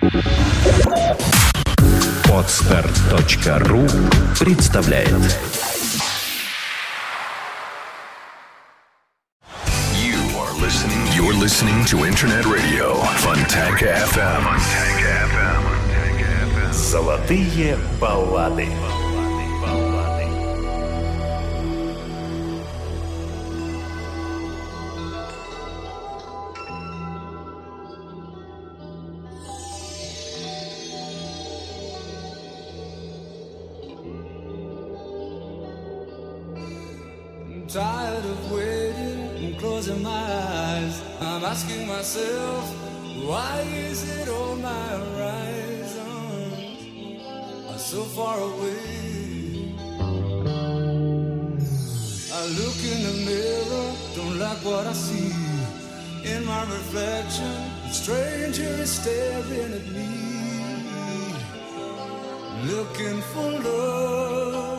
Podster.ru представляет. You're listening to Internet Radio Fontanka FM. Золотые баллады. Tired of waiting and closing my eyes. I'm asking myself, why is it all my horizons are so far away? I look in the mirror, don't like what I see. In my reflection, a stranger is staring at me, looking for love.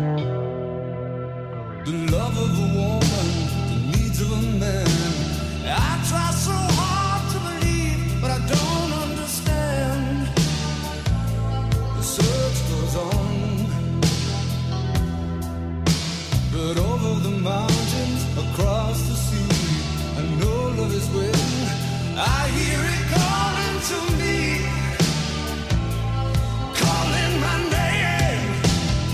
The love of a woman, the needs of a man. I try so hard to believe, but I don't understand. The search goes on, but over the mountains, across the sea, I know love is waiting. I hear it calling to me, calling my name.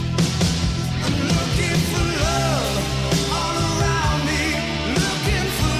I'm looking for love all around me, looking for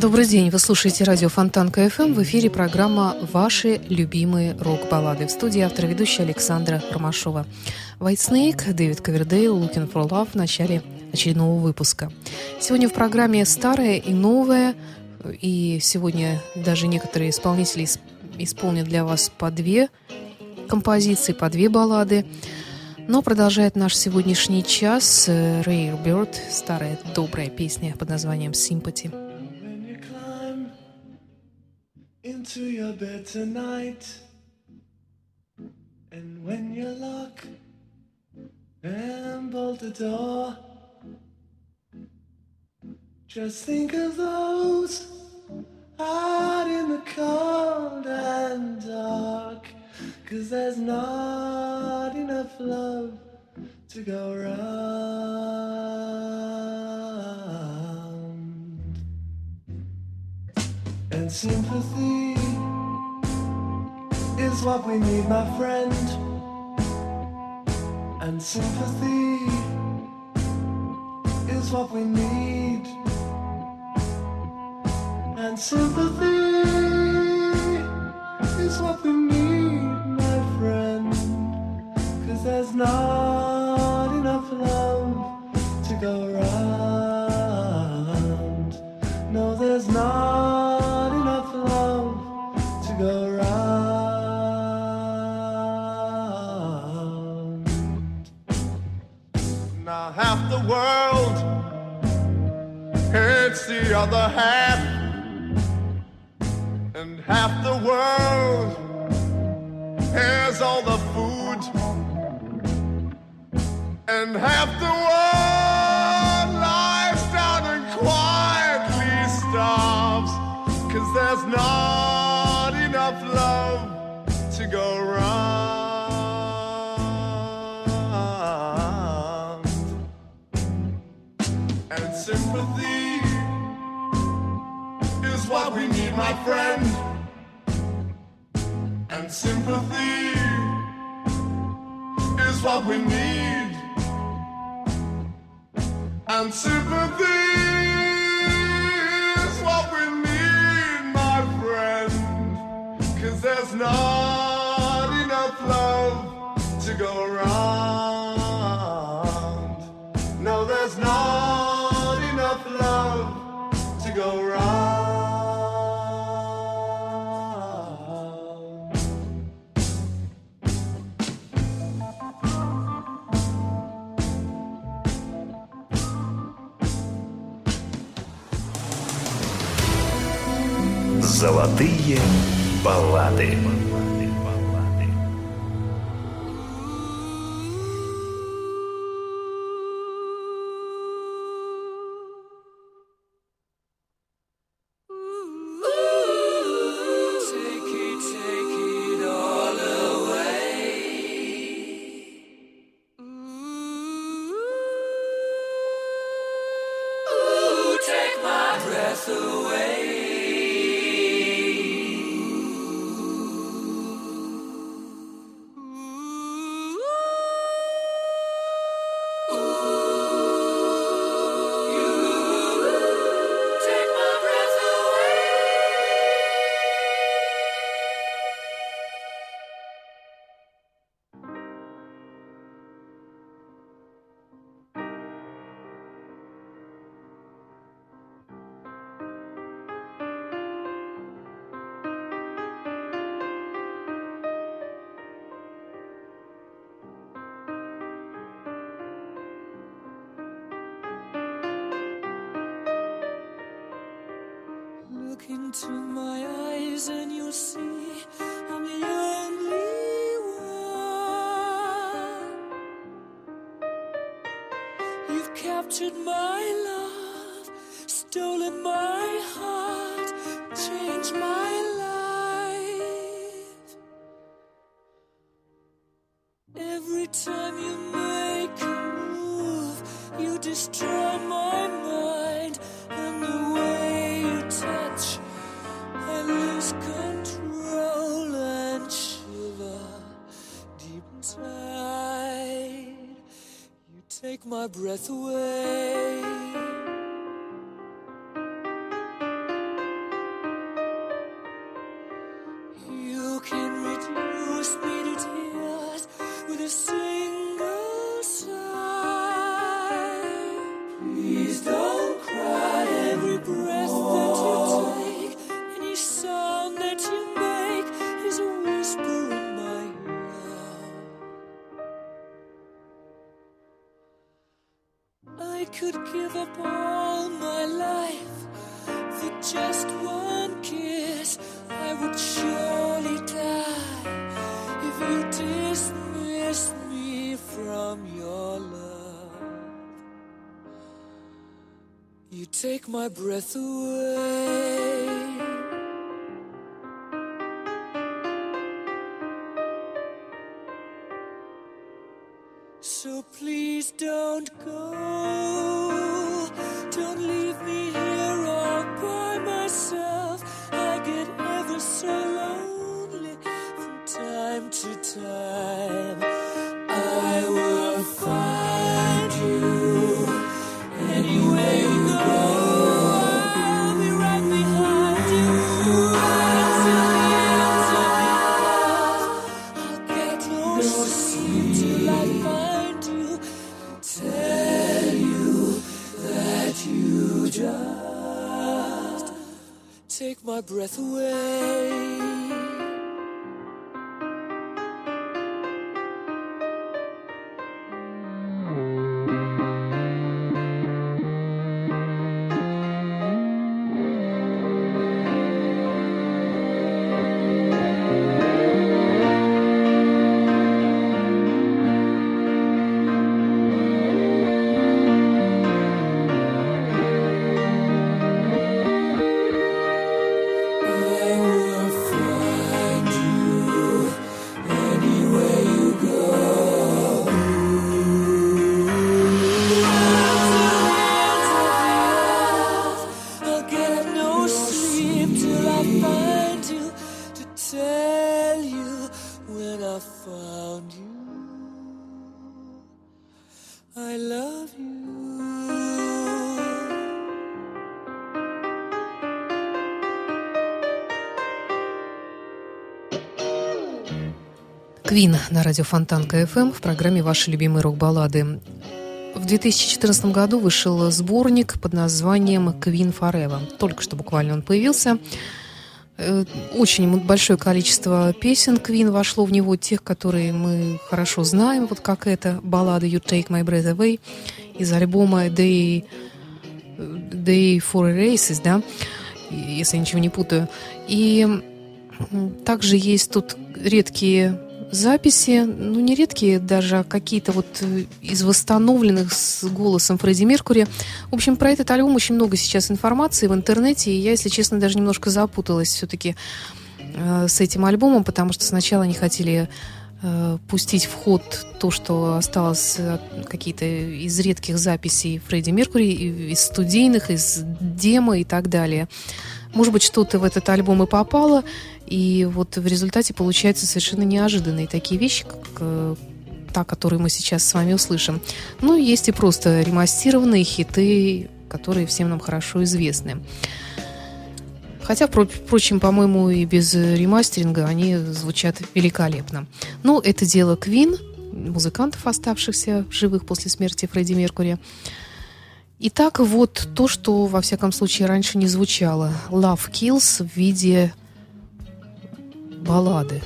Добрый день, вы слушаете радио Фонтан КФМ. В эфире программа «Ваши любимые рок-баллады». В студии автор и ведущая Александра Ромашова. White Snake, Дэвид Ковердейл, Looking for Love в начале очередного выпуска. Сегодня в программе старое и новое. И сегодня даже некоторые исполнители исполнят для вас по 2 композиции, по 2 баллады. Но продолжает наш сегодняшний час Rare Bird, старая добрая песня под названием «Sympathy». Into your bed tonight, and when you lock and bolt the door, just think of those out in the cold and dark, 'cause there's not enough love to go round. And sympathy is what we need, my friend. And sympathy is what we need. And sympathy is what we need, my friend. 'Cause there's not enough love to go round. No, there's not enough love to go round. Now half the world hates the other half, and half the world has all the food, and half the world lies down and quietly starves, 'cause there's not enough love to go round. And sympathy is what we need, my friend. And sympathy is what we need. And sympathy is what we need, my friend. 'Cause there's not enough love to go round. No, there's not enough love to go round. Золотые баллады. Look into my eyes and you'll see I'm the only one. You've captured my love, stolen my heart, changed my life. Every time you make a move, you destroy my mind, and the way you touch, I lose control and shiver deep inside. You take my breath away. I could give up all my life for just one kiss, I would surely die if you dismiss me from your love. You take my breath away. So please don't go, don't leave me here all by myself. I get ever so lonely from time to time. I will find you anywhere you go. I'll be right behind you until the ends of the earth. I'll get no sleep till I find you, tell you that you just take my breath away. I love you. Квин на радио Фонтанка FM в программе «Ваши любимые рок-баллады». В 2014 году вышел сборник под названием «Queen Forever». Только что буквально он появился. Очень большое количество песен Queen вошло в него, тех, которые мы хорошо знаем, вот как эта баллада «You Take My Breath Away» из альбома Day for Erasers, да, если я ничего не путаю. И также есть тут редкие записи, ну не редкие даже, а какие-то вот из восстановленных с голосом Фредди Меркьюри. В общем, про этот альбом очень много сейчас информации в интернете, и я, если честно, даже немножко запуталась все-таки с этим альбомом, потому что сначала они хотели пустить в ход то, что осталось, какие-то из редких записей Фредди Меркьюри, из студийных, из демо и так далее. Может быть, что-то в этот альбом и попало, и вот в результате получаются совершенно неожиданные такие вещи, как та, которую мы сейчас с вами услышим. Ну, есть и просто ремастированные хиты, которые всем нам хорошо известны. Хотя, впрочем, по-моему, и без ремастеринга они звучат великолепно. Но это дело Queen, музыкантов, оставшихся живых после смерти Фредди Меркьюри. Итак, вот то, что, во всяком случае, раньше не звучало. Love Kills в виде баллады.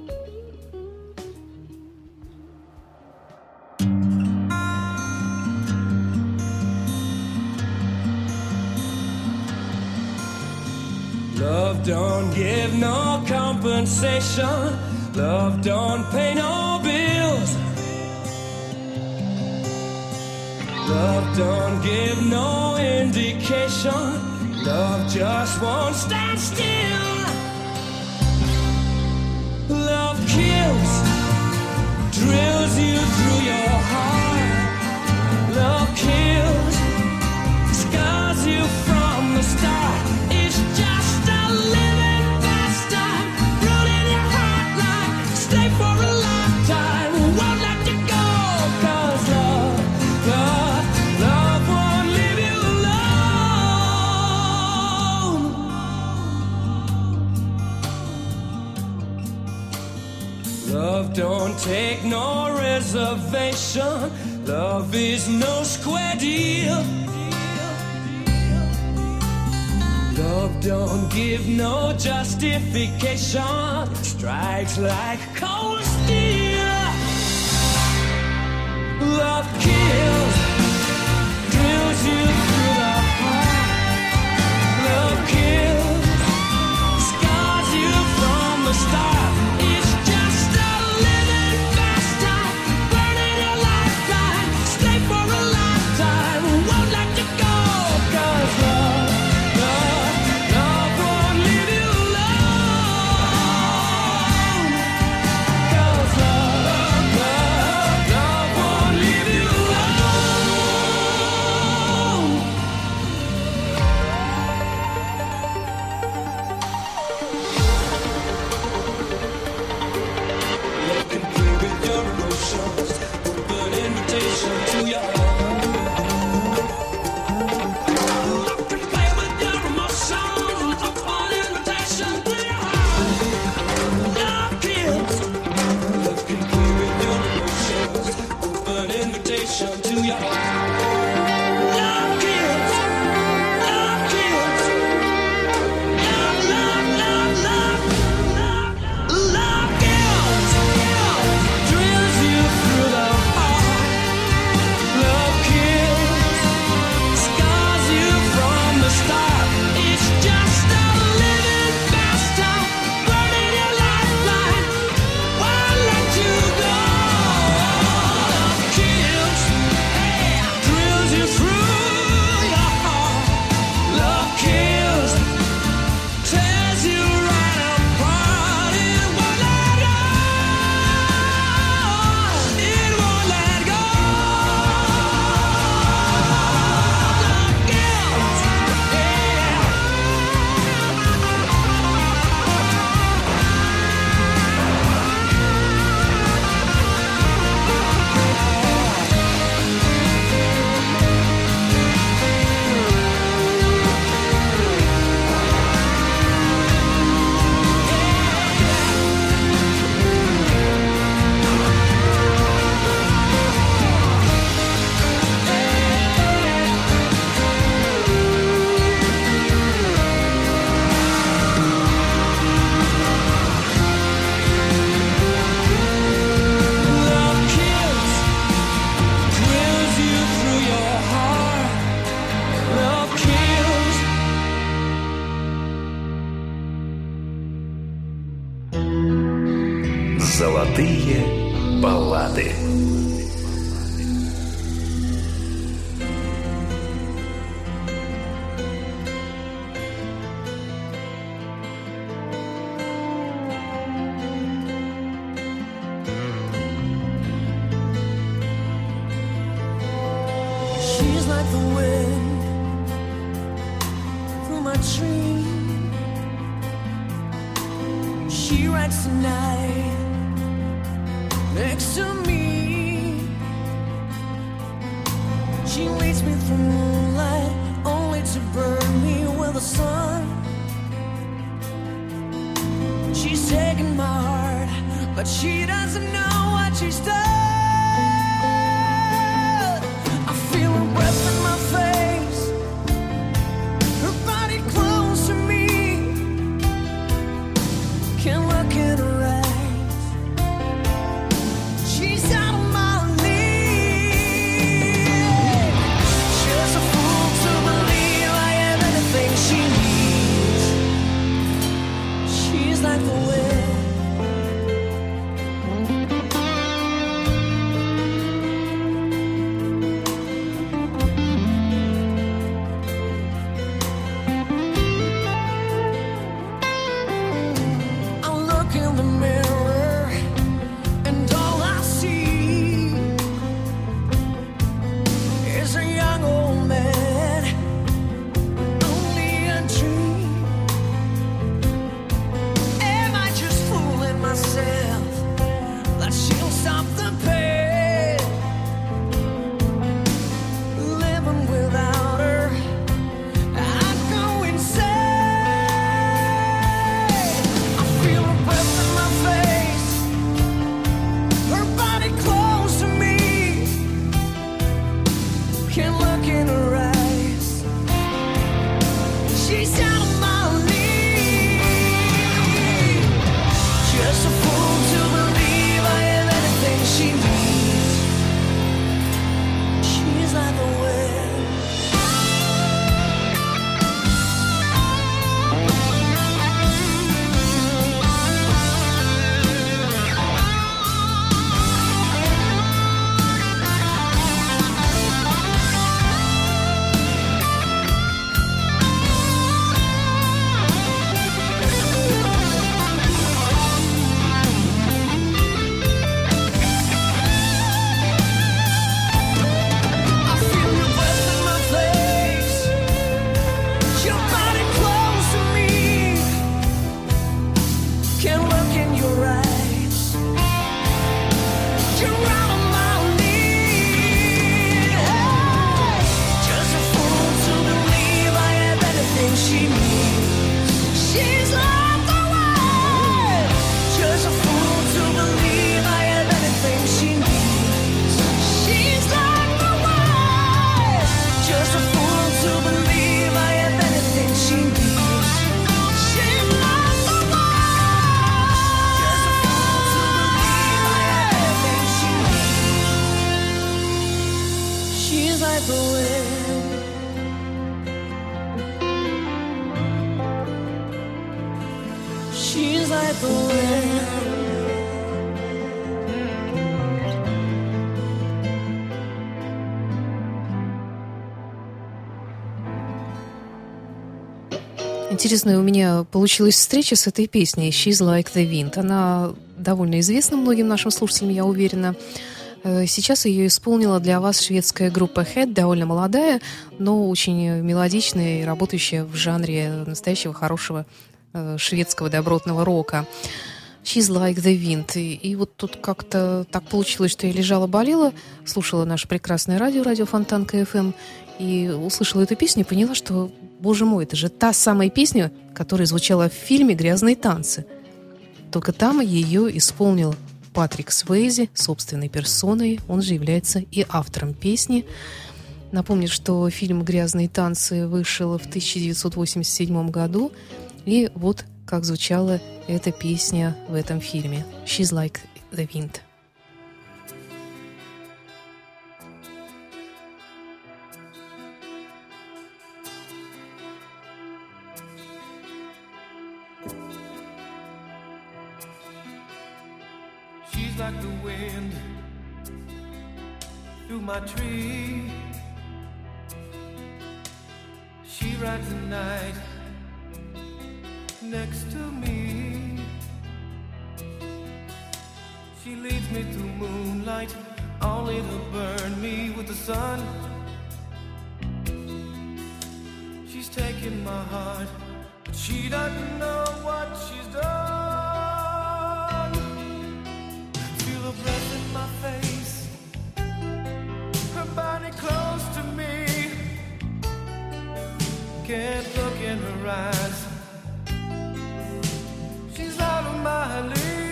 Love don't give no compensation. Love don't pay no bills. Love don't give no indication. Love just won't stand still. Love kills, drills you through your heart. Love kills, scars you from the start. It's just a living pastime, ruling your heart like stay for a lifetime. Won't let you go, 'cause love won't leave you alone. Love don't take no reservation. Love is no square deal. Love don't give no justification. Strikes like cold steel. Love kills, drills Золотые баллады. She's like the wind through my tree. She writes the night next to me. She leads me through moonlight, only to burn me with the sun. She's taken my heart, but she doesn't know what she's done. I feel her breath in my face, her body close to me. Can't look in her eyes, she's out of my league. Just a fool to believe I am anything she needs. She's like the wind. She's like the wind. She's like the wind. Интересная у меня получилась встреча с этой песней «She's Like the Wind». Она довольно известна многим нашим слушателям, я уверена. Сейчас ее исполнила для вас шведская группа Head, довольно молодая, но очень мелодичная и работающая в жанре настоящего хорошего шведского добротного рока. «She's Like the Wind». И вот тут как-то так получилось, что я лежала-болела, слушала наше прекрасное радио Фонтанка FM, и услышала эту песню и поняла, что, боже мой, это же та самая песня, которая звучала в фильме «Грязные танцы». Только там ее исполнил Патрик Суэйзи собственной персоной, он же является и автором песни. Напомню, что фильм «Грязные танцы» вышел в 1987 году, и вот как звучала эта песня в этом фильме «She's Like the Wind». She's like the wind through my tree. She rides the night next to me. She leads me through moonlight, only to burn me with the sun. She's taken my heart, but she doesn't know what she's done. Feel her breath in my face, her body close to me. Can't look in her eyes, she's out of my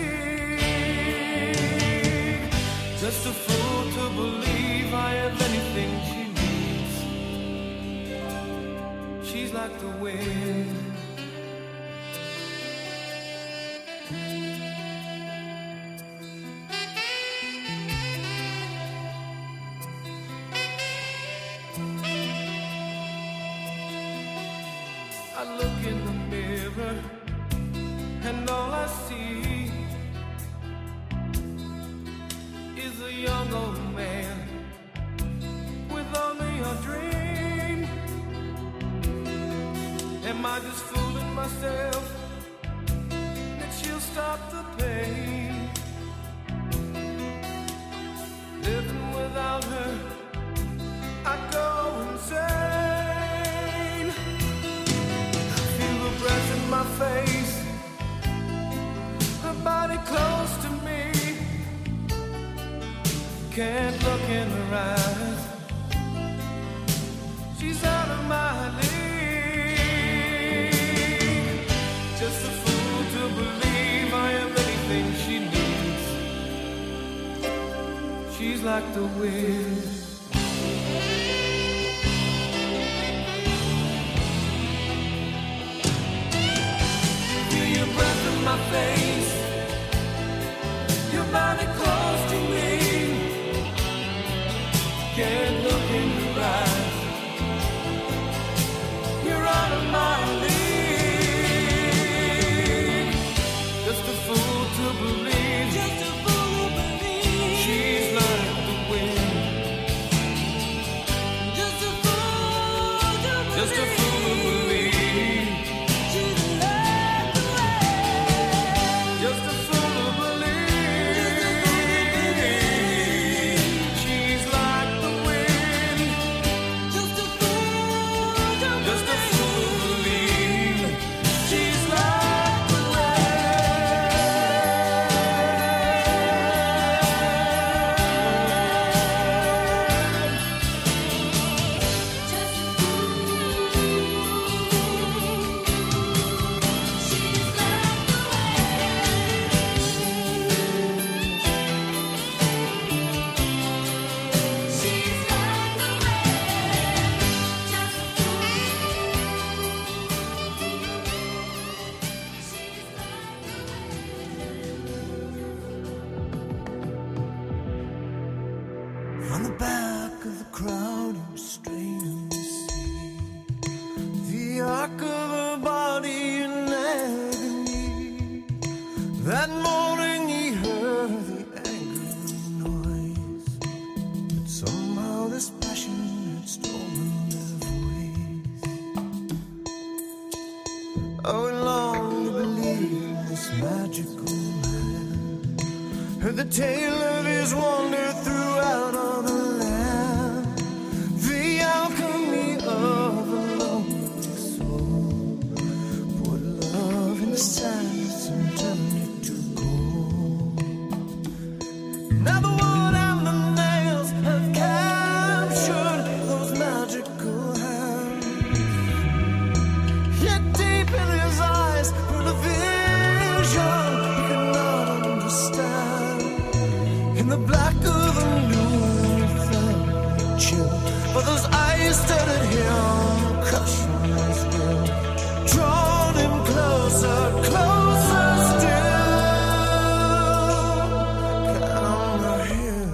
league. Just a fool to believe I have anything she needs. She's like the wind. I look in the mirror and all I see is a young old man with only a dream. Am I just fooling myself that she'll stop the pain? Living without her, I go insane. Feel her breath in my face, her body close to me. Can't look in her eyes, she's out of my league. Just a fool to believe I am anything she needs. She's like the wind. Feel your breath in my face, your body close to me. Can't look in your eyes, you're out of my league. Just a fool to believe, just a fool to believe. She's like the wind. back of the crowd, he was straining to see the arc of her body in agony. That morning he heard the angry noise, but somehow this passion had stolen their voice. Oh, he longed to believe this magical man, heard the tale of his wonder throughout all the land, the alchemy of a lonely soul, put love in the sands and turned it to gold. Now the wood and the nails have captured those magical hands, yet deep in his eyes were the vision he could not understand. In the black of the noon, he felt a chill, for those eyes stared at him, crushing his will, drawn him closer, closer still. Come here.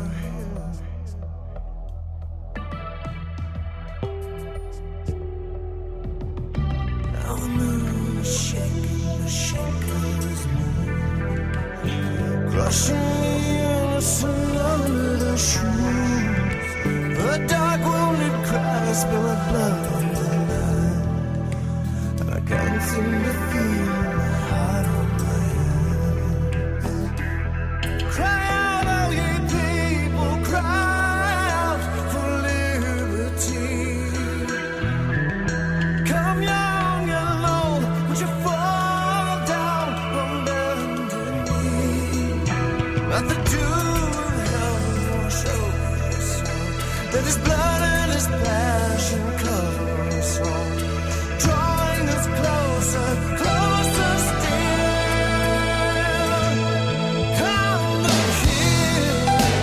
Now the moon is shaking, the shaker is moving, crushing the innocent under the shoes. The dark wounded cries spill of blood on the line, and I can't seem to feel my heart on my hands. Cry out, all ye people, cry out for liberty. Come young and alone, would you fall down on bended knee? Let the dew of heaven wash over your soul. Let his blood and his passion cover us all, drawing us closer, closer still. Come look here.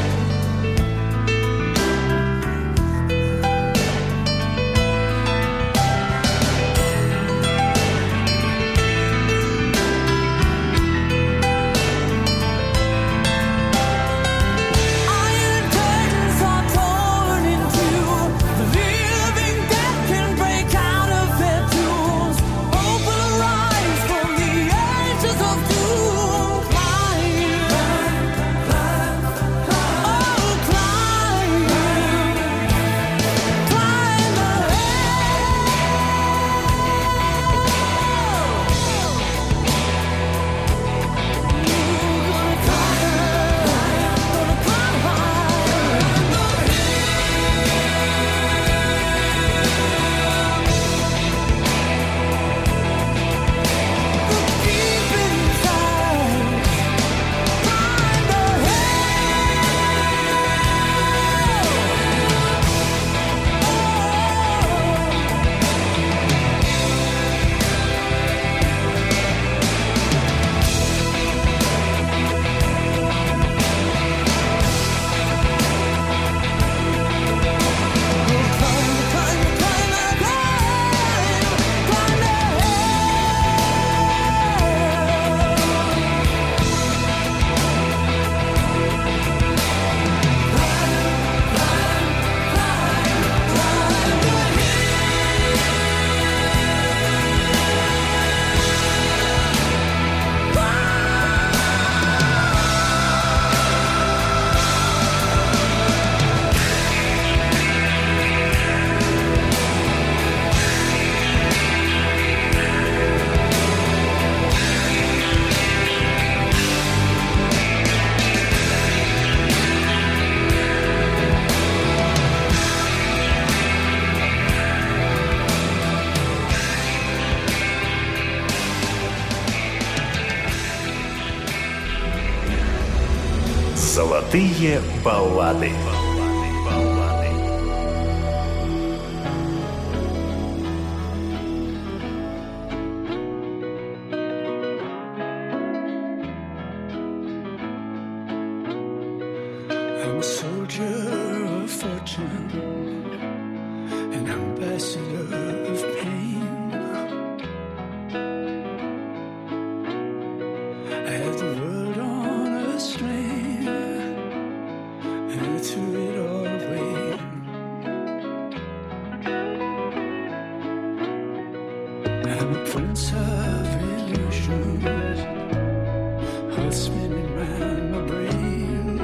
Iron curtains are torn in two. The living dead can break out of their tombs. Hope will arise from the ashes of doom. Climb, climb, climb, oh climb, climb the Золотые баллады. I'm a soldier of fortune, an ambassador of pain. I have the world on a string, and to I'm a prince of illusions, all spinning round my brain.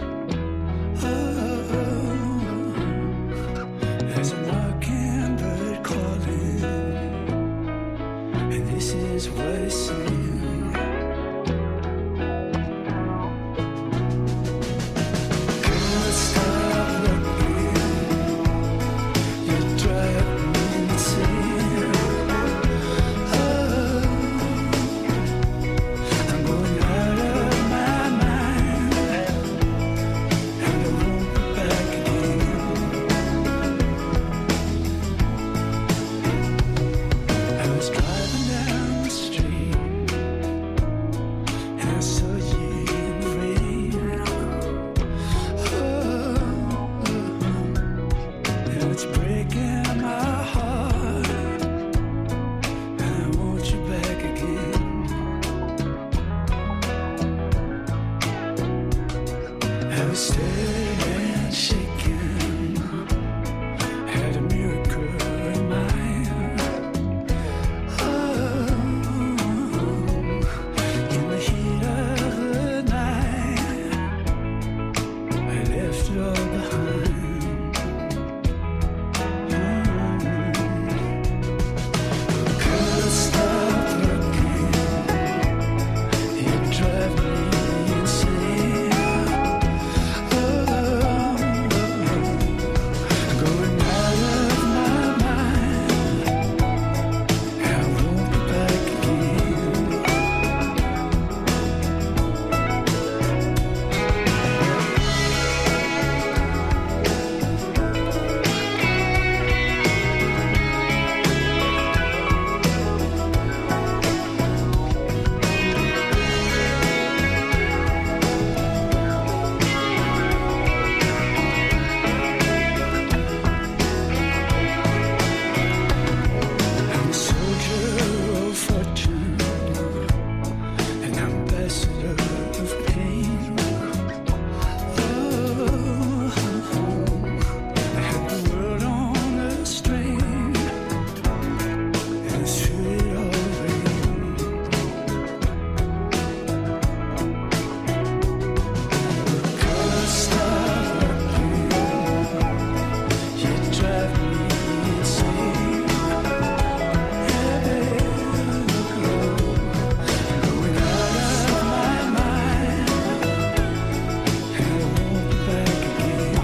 There's a mockingbird calling, and this is what it's saying. Girl, stop looking, you drive me insane. I'm going out of my mind, and I won't be back again. I was driving down the street, and I saw you in the rain. And it's breaking my heart, and I want you back again. I was staring, shaking, had a miracle in mind. In the heat of the night, I left it all behind. Girl, stop looking, you drive me insane. Going out of my mind, I won't be back again. I'm a soldier of fortune, an ambassador of pain. I had the world on a string, and through it all rain. Girl, stop looking, you drive me insane. Going out of my mind, and I won't be back again.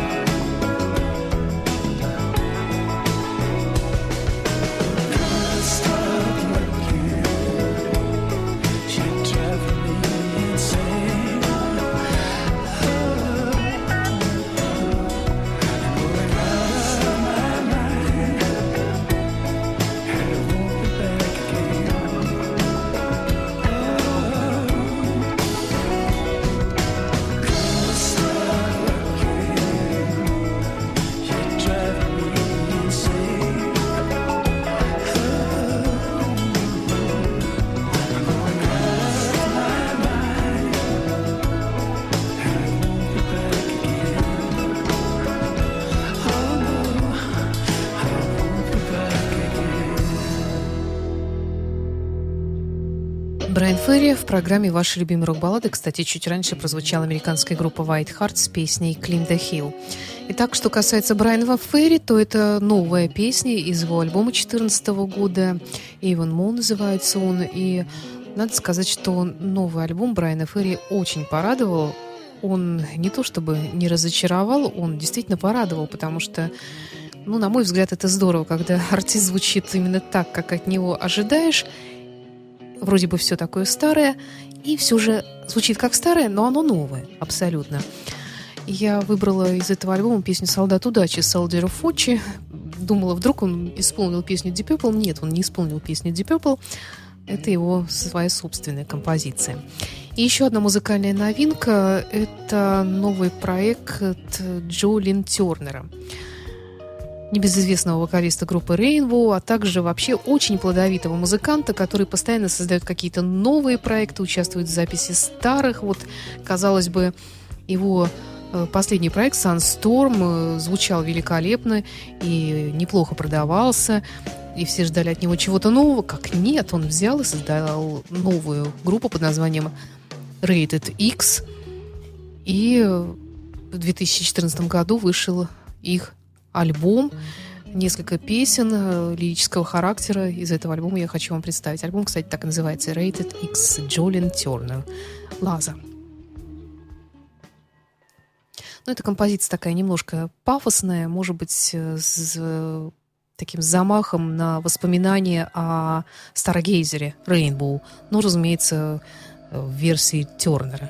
Girl, stop looking, you drive me insane. Going out of my mind, and I won't be back again. Girl, stop looking, you drive me insane. I'm going out of my mind, and I won't be back again. Oh no, I won't be back again. Брайан Ферри в программе «Ваши любимые рок-баллады». Кстати, чуть раньше прозвучала американская группа White Heart с песней «Climb the Hill». Итак, что касается Брайана Ферри, то это новая песня из его альбома 2014 года. «Even More» называется он. И надо сказать, что новый альбом Брайана Ферри очень порадовал. Он не то чтобы не разочаровал, он действительно порадовал, потому что, на мой взгляд, это здорово, когда артист звучит именно так, как от него ожидаешь. Вроде бы все такое старое, и все же звучит как старое, но оно новое, абсолютно. Я выбрала из этого альбома песню «Солдат удачи» Soldier of Fortune. Думала, вдруг он исполнил песню Deep Purple. Нет, он не исполнил песню Deep Purple. Это его своя собственная композиция. И еще одна музыкальная новинка – это новый проект Джо Лин Тернера, небезызвестного вокалиста группы Rainbow, а также вообще очень плодовитого музыканта, который постоянно создает какие-то новые проекты, участвует в записи старых. Вот, казалось бы, его последний проект Sunstorm звучал великолепно и неплохо продавался. и все ждали от него чего-то нового. Как нет, он взял и создал новую группу под названием Rated X. И в 2014 году вышел их альбом. Несколько песен лирического характера из этого альбома я хочу вам представить. Альбом, кстати, так и называется Rated X, Джолин Тернер, Лаза. Ну, эта композиция такая немножко пафосная, может быть, с таким замахом на воспоминания о Старгейзере, Rainbow. Ну, разумеется, в версии Тернера.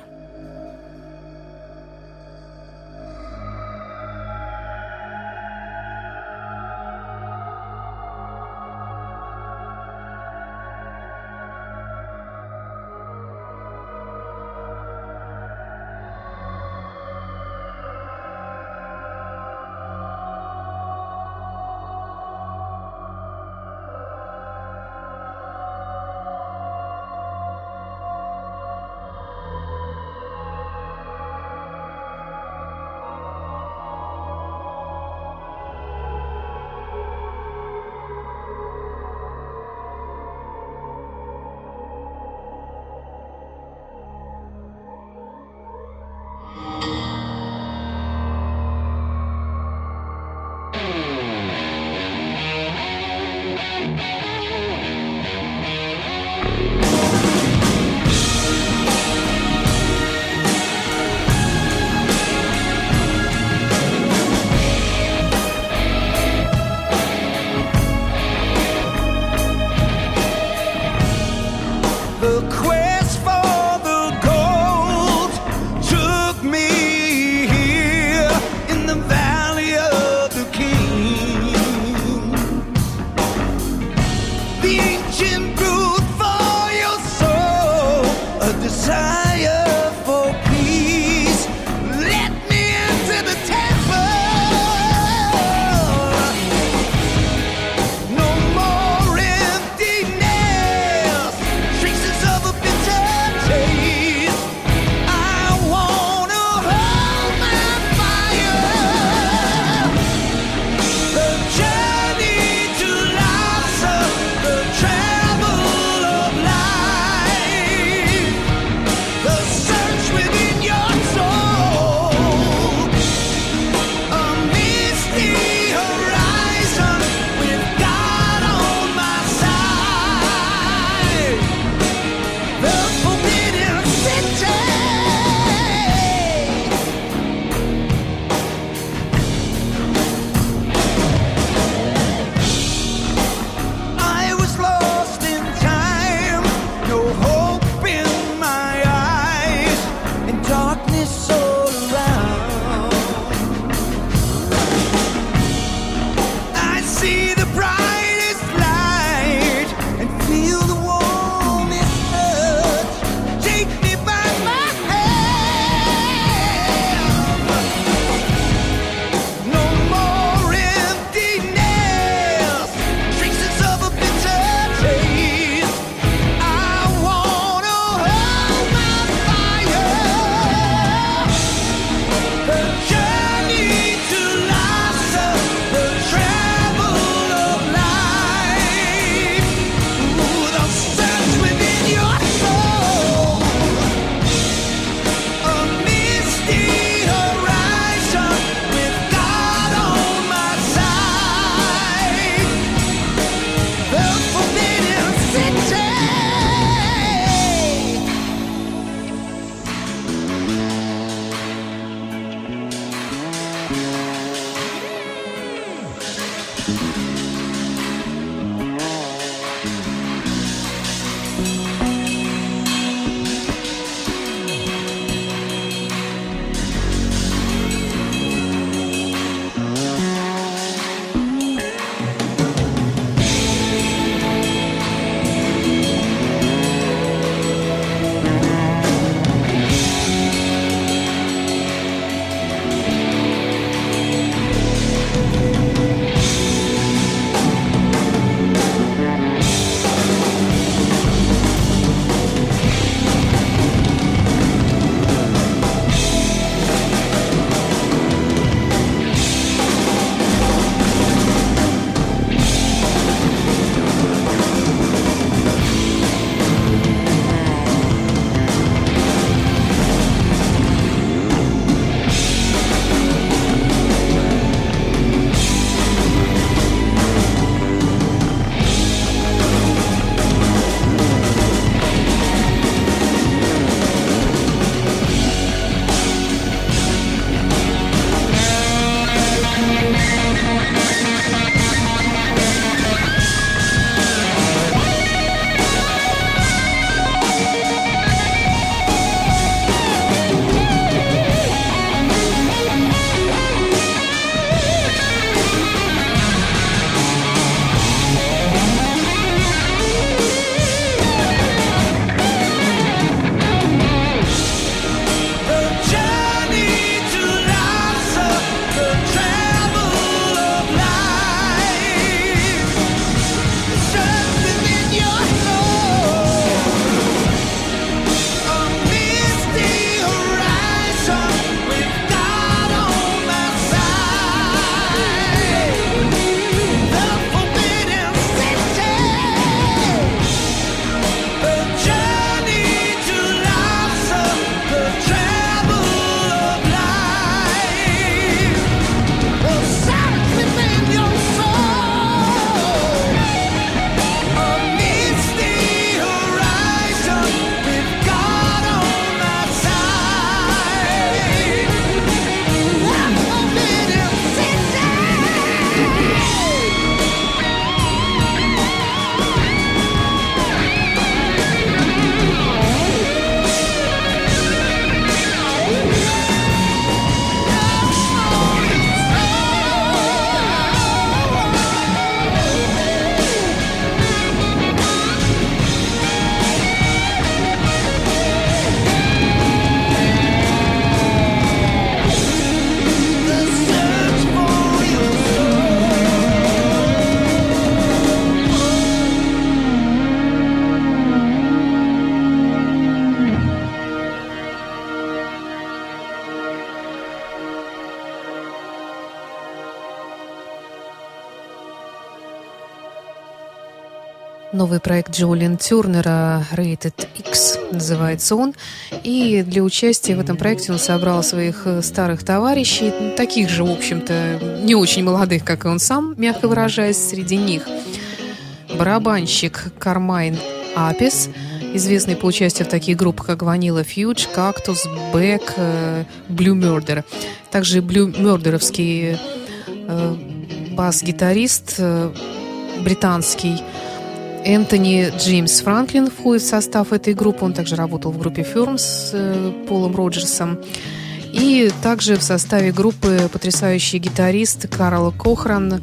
Новый проект Джулиан Тернера Rated X называется он. И для участия в этом проекте он собрал своих старых товарищей, таких же, в общем-то, не очень молодых, как и он сам, мягко выражаясь. Среди них барабанщик Кармайн Апис, известный по участию в таких группах, как Vanilla Fudge, Cactus, Beck, Blue Murder. Также Blue Murder'овский бас-гитарист британский Энтони Джеймс Франклин входит в состав этой группы. Он также работал в группе Firm с Полом Роджерсом. И также в составе группы потрясающий гитарист Карл Кохран,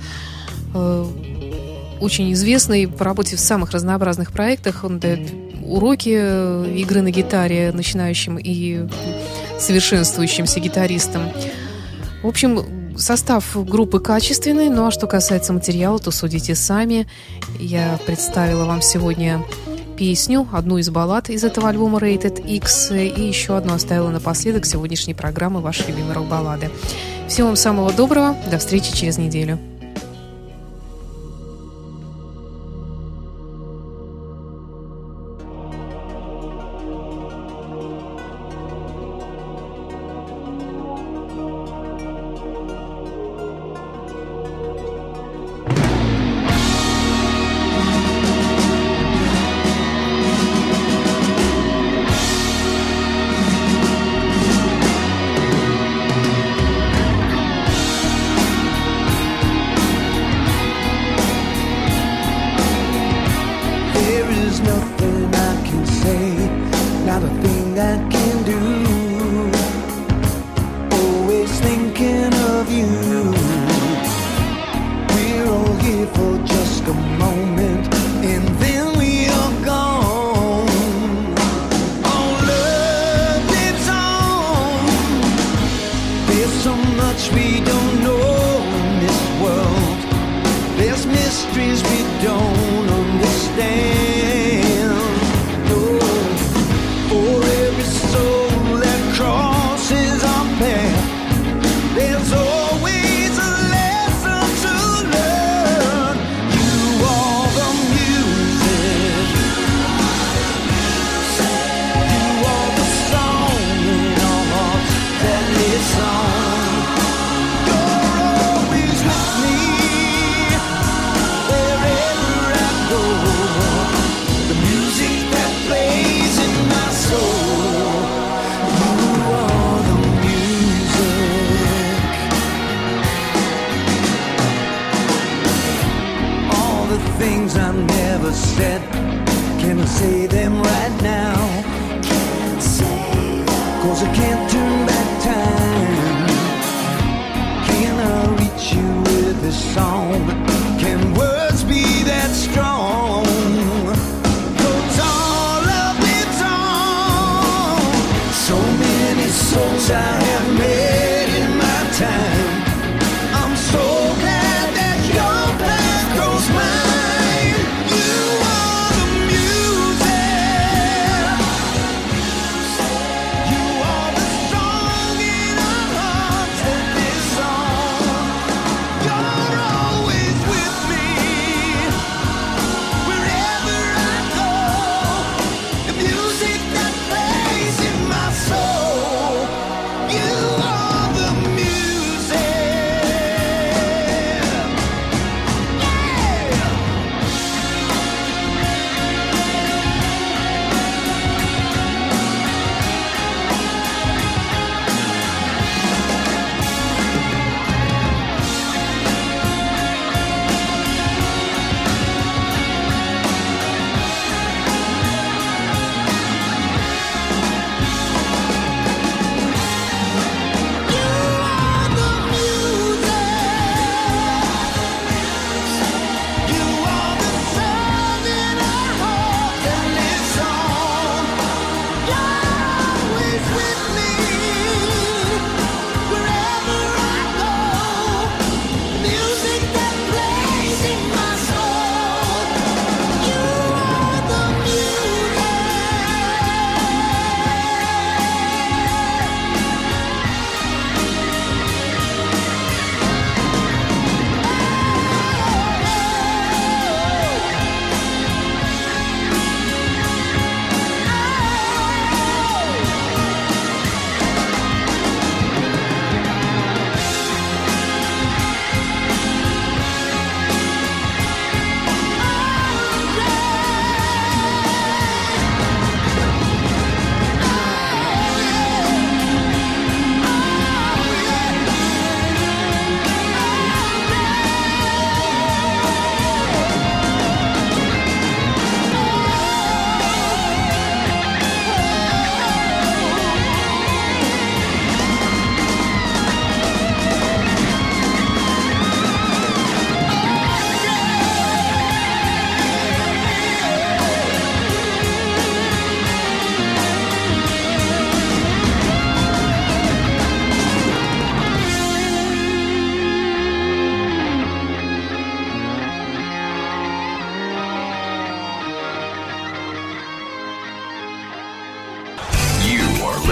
очень известный по работе в самых разнообразных проектах. Он дает уроки игры на гитаре начинающим и совершенствующимся гитаристам. В общем, состав группы качественный, ну а что касается материала, то судите сами. Я представила вам сегодня песню, одну из баллад из этого альбома Rated X, и еще одну оставила напоследок сегодняшней программы «Ваши любимые рок-баллады». Всего вам самого доброго, до встречи через неделю. Things I never said, can I say them right now? Cause I can't turn back time. Can I reach you with this song? Can words be that strong? Cause all of it's on. So many souls I have met in my time. I'm so glad that your path grows mine. You are the song in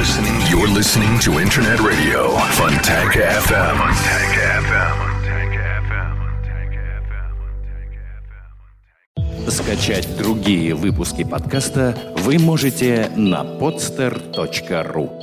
You're listening to Internet Radio, Funtank FM. Скачать другие выпуски подкаста вы можете на podster.ru.